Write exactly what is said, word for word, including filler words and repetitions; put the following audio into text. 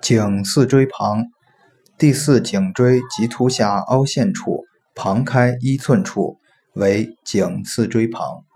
颈四椎旁，第四颈椎棘突下凹陷处，旁开一寸处为颈四椎旁。